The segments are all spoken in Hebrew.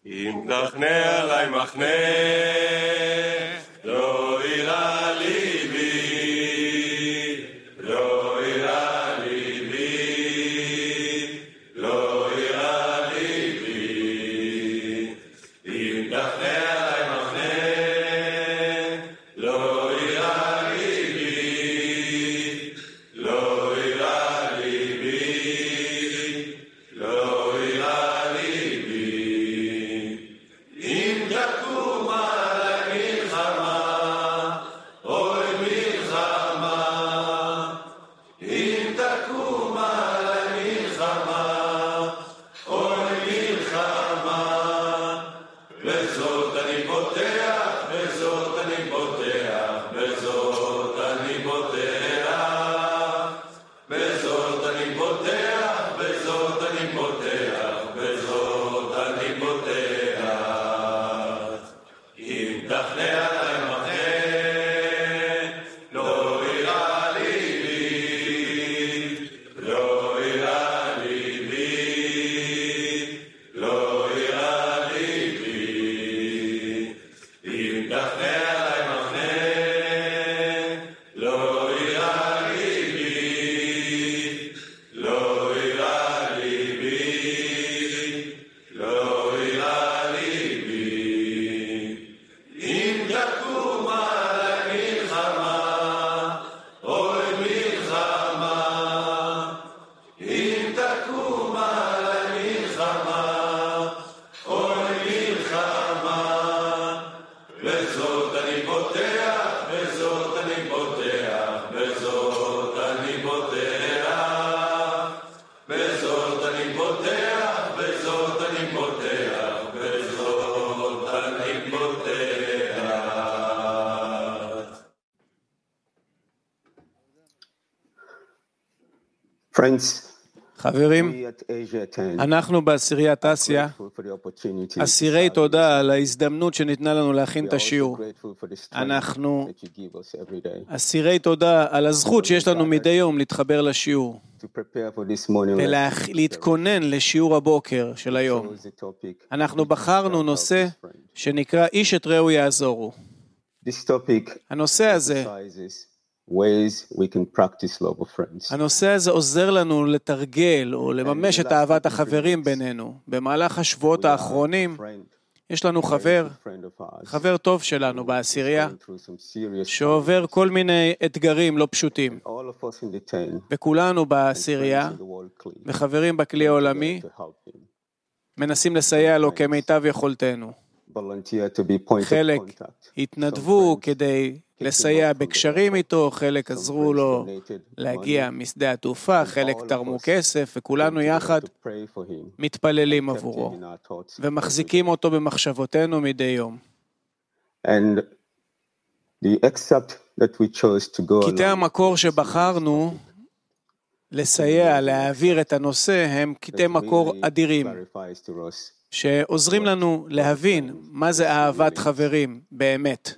אם תחנה עלי מחנה, לא אירע ליבי, לא אירע ליבי, לא אירע ליבי. אם תחנה עלי מחנה, לא אירע ליבי, לא אירע ליבי, לא אירע ליבי. אם תקום עלי מלחמה, אוי מלחמה, אם תקום עלי מלחמה, אוי מלחמה, בזאת אני פותח, בזאת אני פותח, בזאת אני פותח, בזאת אני פותח, בזאת אני פותח, בזאת אני פותח. אם תחנה עלי מחנה, לא אירע ליבי, לא אירע ליבי, לא אירע ליבי. אם תחנה עלי מחנה, לא אירע ליבי, לא אירע ליבי, לא אירע ליבי. אם תקום עלי מלחמה, אוי מלחמה, אם תקום עלי מלחמה, אוי מלחמה, בזאת אני פותח, בזאת אני פותח, בזאת אני פותח, בזאת אני פותח, בזאת אני פותח, בזאת אני פותח. Friends, חברים, we at Asia 10 אנחנו בעשיריית אסיה, grateful for the opportunity to אסירי serve תודה this. על ההזדמנות שניתנה לנו להכין We את are also השיעור. grateful for the strength אנחנו that you give us every day אסירי תודה על הזכות שיש לנו מדי יום להתחבר לשיעור to prepare for this morning lesson. ולהתכונן לשיעור הבוקר של We היום. chose the topic, אנחנו "Each בחרנו shall help נושא his friend." שנקרא איש את רעהו יעזורו. This topic הנושא הזה emphasizes ways we can practice love of friends. הנושא הזה עוזר לנו לתרגל או לממש את אהבת החברים בינינו. במהלך השבועות We have a האחרונים friend, יש לנו a very חבר, good friend of ours, חבר טוב שלנו who is בעשירייה, going through some serious שעובר כל מיני אתגרים לא פשוטים. challenges. All of us in the 10 וכולנו and בעשירייה friends in the world clean וחברים בכלי came העולמי together to help him. מנסים לסייע לו כמיטב יכולתנו. Volunteer to be point of חלק contact. התנדבו Some friends כדי came to לסייע work from the בקשרים airport. איתו, חלק Some עזרו friends לו donated להגיע money. משדה התעופה, And חלק all of תרמו us כסף, came וכולנו together יחד to pray for him מתפללים and kept him עבורו, in our thoughts every ומחזיקים day. אותו במחשבותינו מדי יום. And the excerpt that we chose to go קטעי along המקור with this שבחרנו topic לסייע, להעביר את הנושא, הם קטעי that מקור really אדירים, clarifies to us שעוזרים לנו להבין מה זה אהבת חברים באמת.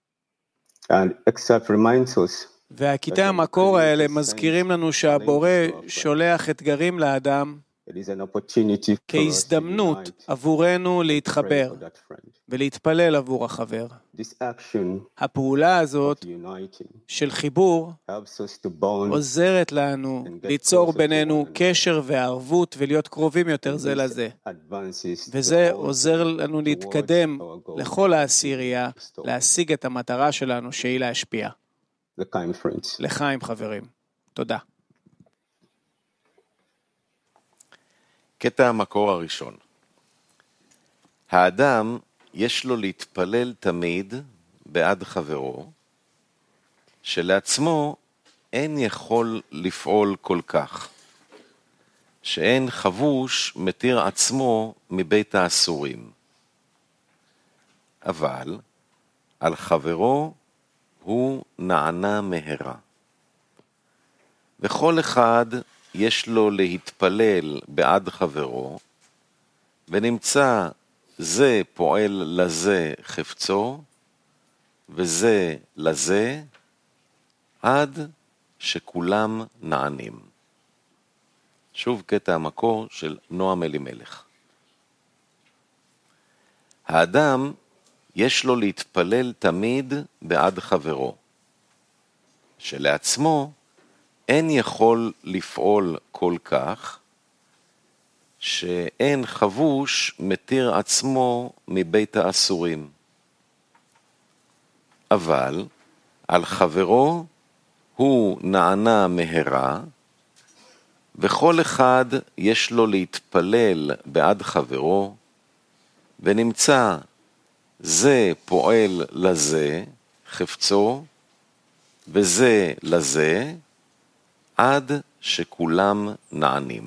and excerpt reminds us והקטעי המקור האלה מזכירים לנו שהבורא שולח אתגרים לאדם it is an opportunity for us to כהזדמנות unite, עבורנו pray להתחבר for that friend. ולהתפלל עבור החבר. This action הפעולה הזאת of uniting של חיבור helps us to bond עוזרת לנו ליצור בינינו קשר וערבות ולהיות קרובים יותר זה לזה. advances וזה the whole עוזר לנו להתקדם לכל העשירייה, להשיג את המטרה שלנו שהיא להשפיע. לחיים friends. לחיים חברים. תודה. קטע המקור הראשון. האדם יש לו להתפלל תמיד בעד חברו, שלעצמו אין יכול לפעול כל כך, שאין חבוש מתיר עצמו מבית האסורים. אבל על חברו הוא נענה מהרה. וכל אחד יש לו להתפלל בעד חברו, ונמצא זה פועל לזה חפצו, וזה לזה, עד שכולם נענים. שוב קטע המקור של נועם אלימלך. האדם יש לו להתפלל תמיד בעד חברו, שלעצמו אין יכול לפעול כל כך, שאין חבוש מתיר עצמו מבית האסורים. אבל על חברו הוא נענה מהרה, וכל אחד יש לו להתפלל בעד חברו, ונמצא זה פועל לזה חפצו, וזה לזה, עד שכולם נענים.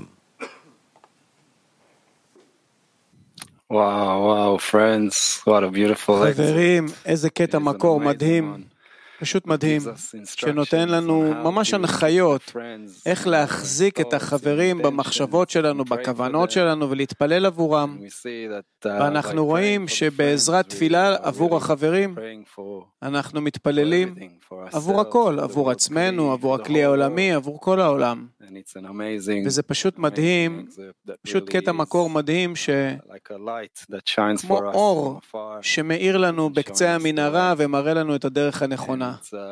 וואו, friends, what a beautiful חברים, איזה קטע מקור מדהים, פשוט מדהים, שנותן לנו ממש הנחיות איך להחזיק את החברים במחשבות שלנו, בכוונות שלנו ולהתפלל עבורם. ואנחנו רואים שבעזרת תפילה עבור החברים, אנחנו מתפללים עבור הכל, עבור עצמנו, עבור הכלי העולמי, עבור כל העולם. וזה פשוט מדהים, פשוט קטע מקור מדהים כמו אור שמאיר לנו בקצה המנהרה ומראה לנו את הדרך הנכונה.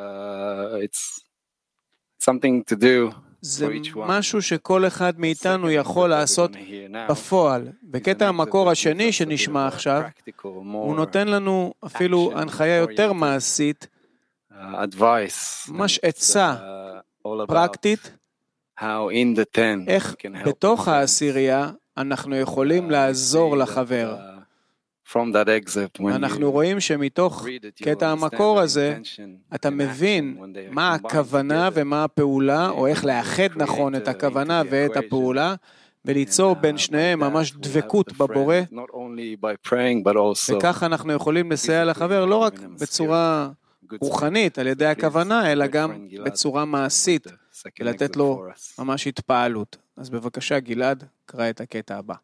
זה משהו שכל אחד מאיתנו יכול לעשות בפועל. בקטע המקור השני שנשמע עכשיו, הוא נותן לנו אפילו הנחיה יותר מעשית, ממש עצה פרקטית, איך בתוך העשירייה אנחנו יכולים לעזור לחבר. אנחנו רואים שמתוך קטע המקור הזה, אתה מבין מה הכוונה ומה הפעולה, או איך לאחד נכון את הכוונה ואת הפעולה, וליצור בין שניהם ממש דבקות בבורא, וכך אנחנו יכולים לסייע לחבר לא רק בצורה רוחנית על ידי הכוונה, אלא גם בצורה מעשית, ולתת לו ממש התפעלות. אז בבקשה גלעד, קרא את הקטע הבא.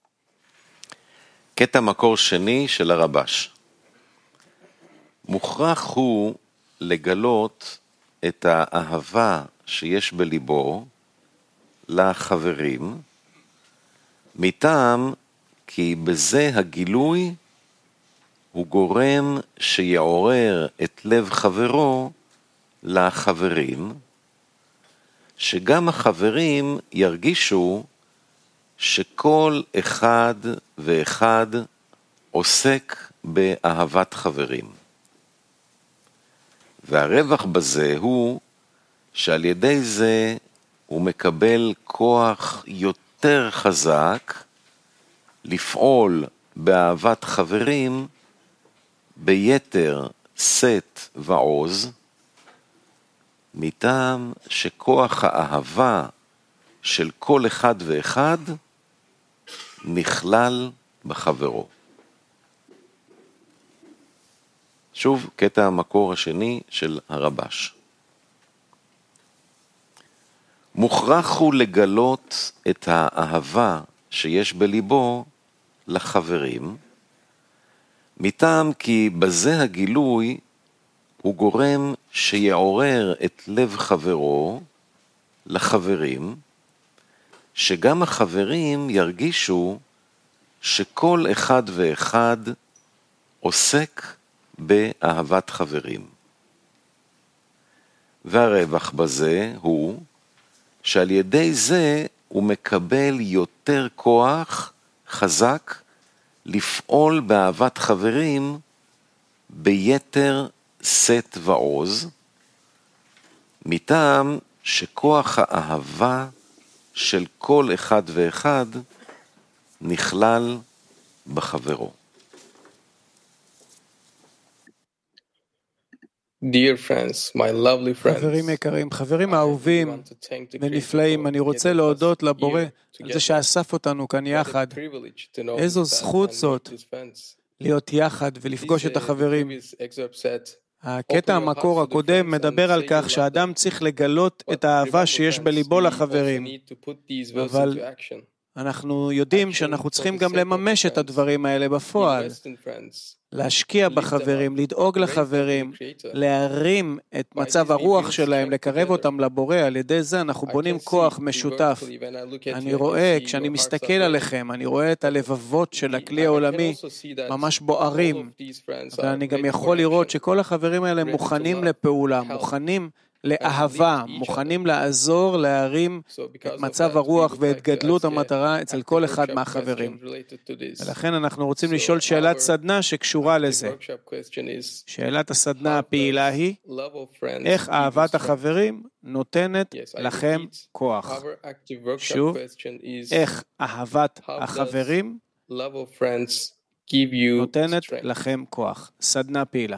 קטע מקור שני של הרבש. מוכרח הוא לגלות את האהבה שיש בליבו לחברים, מטעם כי בזה הגילוי הוא גורם שיעורר את לב חברו לחברים, שגם החברים ירגישו שכל אחד ואחד עוסק באהבת חברים. והרווח בזה הוא שעל ידי זה הוא מקבל כוח יותר חזק לפעול באהבת חברים ביתר שאת ועוז, מטעם שכוח האהבה של כל אחד ואחד נכלל בחברו. שוב, קטע המקור השני של הרבש. מוכרח הוא לגלות את האהבה שיש בליבו לחברים, מטעם כי בזה הגילוי הוא גורם שיעורר את לב חברו לחברים, שגם החברים ירגישו שכל אחד ואחד עוסק באהבת חברים. והרווח בזה הוא שעל ידי זה הוא מקבל יותר כוח חזק לפעול באהבת חברים ביתר שאת ועוז, מטעם שכוח האהבה של כל אחד ואחד נכלל בחברו. Dear friends, my lovely friends, חברים יקרים, חברים האהובים ונפלאים, אני רוצה להודות לבורא על זה שאסף אותנו כאן יחד. איזו זכות זאת להיות יחד ולפגוש את החברים. הקטע המקור הקודם מדבר על כך שהאדם צריך לגלות את האהבה שיש בליבו לחברים, אבל אנחנו יודעים שאנחנו צריכים גם לממש את הדברים האלה בפועל, להשקיע בחברים, לדאוג לחברים, להרים את מצב הרוח שלהם, לקרב אותם לבורא, על ידי זה אנחנו בונים כוח משותף. אני רואה, כשאני מסתכל עליכם, אני רואה את הלבבות של הכלי העולמי ממש בוערים, ואני גם יכול לראות שכל החברים האלה מוכנים לפעולה, מוכנים לאהבה, מוכנים לעזור, להרים את מצב הרוח ואת גדלות המטרה אצל כל אחד מהחברים. ולכן אנחנו רוצים לשאול שאלת סדנה שקשורה לזה. שאלת הסדנה הפעילה היא, איך אהבת החברים נותנת לכם כוח? שוב, איך אהבת החברים נותנת לכם כוח? סדנה פעילה.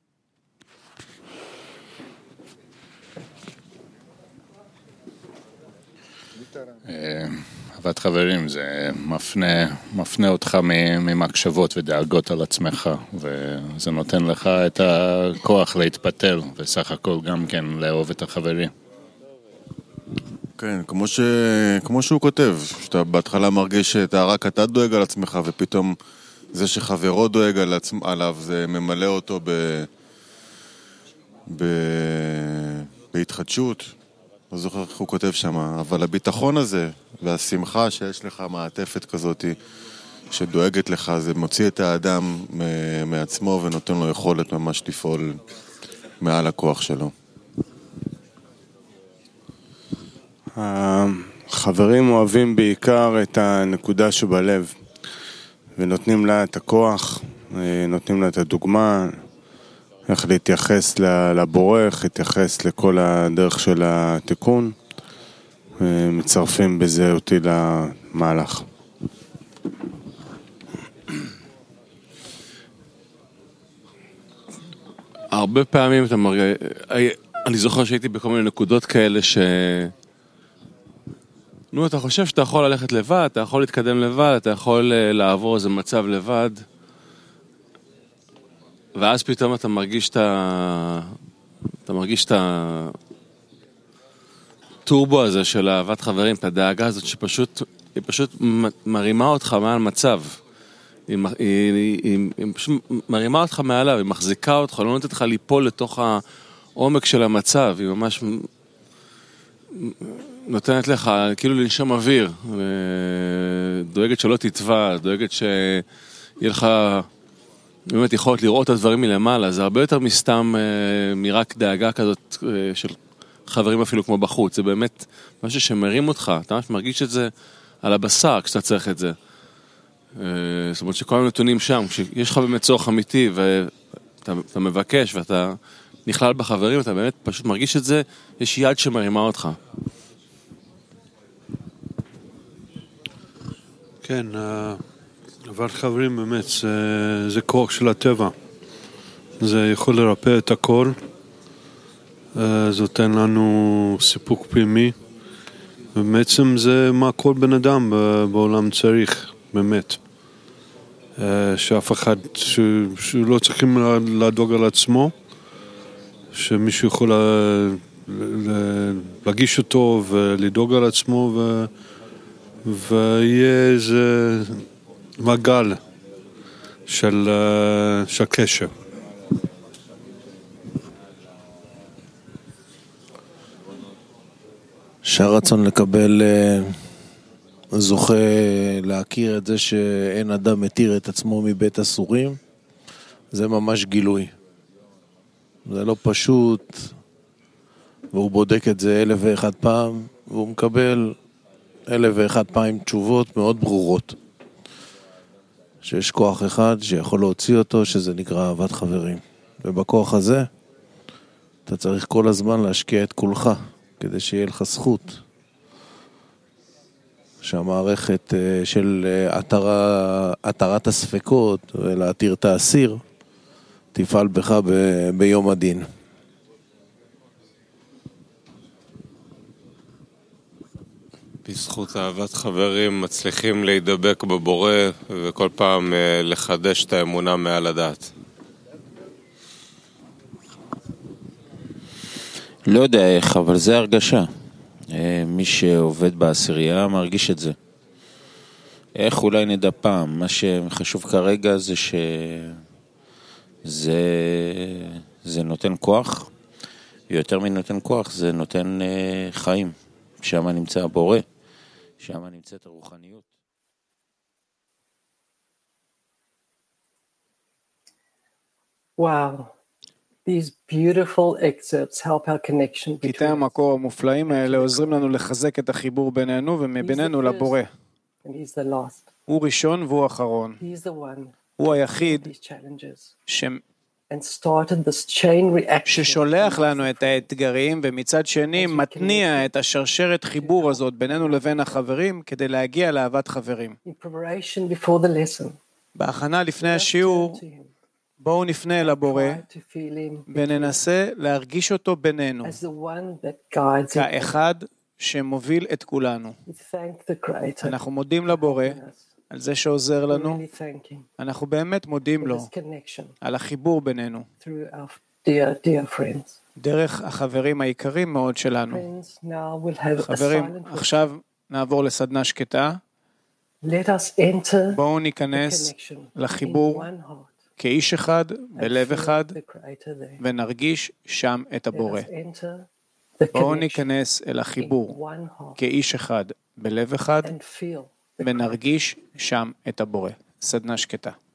אהבת חברים זה מפנה אותך ממחשבות ודאגות על עצמך, וזה נותן לך את הכוח להתפתל וסך הכל גם כן לאהוב את החברים. כן, כמו שהוא כותב, שאתה בהתחלה מרגיש שרק אתה דואג על עצמך, ופתאום זה שחברו דואג עליו זה ממלא אותו בהתחדשות. לא זוכר איך הוא כותב שם, אבל הביטחון הזה והשמחה שיש לך מעטפת כזאת שדואגת לך, זה מוציא את האדם מעצמו ונותן לו יכולת ממש לפעול מעל הכוח שלו. החברים אוהבים בעיקר את הנקודה שבלב ונותנים לה את הכוח, נותנים לה את הדוגמה, איך להתייחס לבורא, איך להתייחס לכל הדרך של התיקון, מצרפים בזה אותי למהלך. הרבה פעמים אני זוכר שהייתי בכל מיני נקודות כאלה אתה חושב שאתה יכול ללכת לבד, אתה יכול להתקדם לבד, אתה יכול לעבור איזה מצב לבד, ואז פתאום אתה מרגיש את הטורבו הזה של אהבת חברים, את הדאגה הזאת היא פשוט מרימה אותך מעל מצב. היא פשוט מרימה אותך מעליו, היא מחזיקה אותך, לא נותנת לך ליפול לתוך העומק של המצב, היא ממש נותנת לך כאילו לנשום אוויר, דואגת שלא תטבע, דואגת שיהיה לך באמת יכולת לראות את הדברים מלמעלה, זה הרבה יותר מסתם מרק דאגה כזאת של חברים אפילו כמו בחוץ, זה באמת משהו שמרים אותך, אתה ממש מרגיש את זה על הבשר כשאתה צריך את זה. זאת אומרת שכל הנתונים שם, כשיש לך באמת צורך אמיתי ואתה מבקש ואתה נכלל בחברים, אתה באמת פשוט מרגיש את זה, יש יד שמרימה אותך. כן, אהבת חברים באמת זה כוח של הטבע, זה יכול לרפא את הכל, זה נותן לנו סיפוק פנימי, ובעצם זה מה כל בן אדם בעולם צריך, באמת. שאף אחד, שלא צריכים לדאוג על עצמו, שמישהו יכול להגיש אותו ולדאוג על עצמו, ויהיה איזה מגל של קשר. שהרצון לקבל זוכה להכיר את זה שאין אדם מתיר את עצמו מבית אסורים, זה ממש גילוי. זה לא פשוט, והוא בודק את זה 1001 פעם, והוא מקבל 1001 פעם תשובות מאוד ברורות. שיש כוח אחד שיכול להוציא אותו, שזה נקרא אהבת חברים. ובכוח הזה, אתה צריך כל הזמן להשקיע את כולך, כדי שיהיה לך זכות. שהמערכת של התרת הספקות ולהתיר את האסיר תפעל בך ביום הדין. בזכות אהבת חברים מצליחים להידבק בבורא וכל פעם לחדש את האמונה מעל הדעת. לא יודע איך, אבל זה הרגשה. מי שעובד בעשירייה מרגיש את זה. איך אולי נדע פעם? מה שחשוב כרגע זה זה נותן כוח, ויותר מנותן כוח זה נותן חיים. שם נמצא הבורא, שם נמצאת הרוחניות. Wow. These beautiful excerpts help our connection between. קטעי המקור המופלאים האלה עוזרים לנו לחזק את החיבור בינינו ומבינינו לבורא. And he's the last. הוא ראשון והוא אחרון. He's the one. הוא היחיד And started this chain reaction. ששולח לנו את האתגרים, ומצד שני מתניע את השרשרת חיבור הזאת בינינו לבין החברים כדי להגיע לאהבת חברים. In preparation before the lesson. בהכנה לפני השיעור, בואו נפנה אל הבורא וננסה להרגיש אותו בינינו כאחד שמוביל את כולנו. אנחנו מודים לבורא על זה שעוזר לנו, אנחנו באמת מודים לו על החיבור בינינו דרך החברים היקרים מאוד שלנו. חברים, עכשיו נעבור לסדנה שקטה. בואו ניכנס לחיבור כאיש אחד, בלב אחד, ונרגיש שם את הבורא. בואו ניכנס אל החיבור כאיש אחד, בלב אחד, ונרגיש שם את הבורא. סדנה שקטה.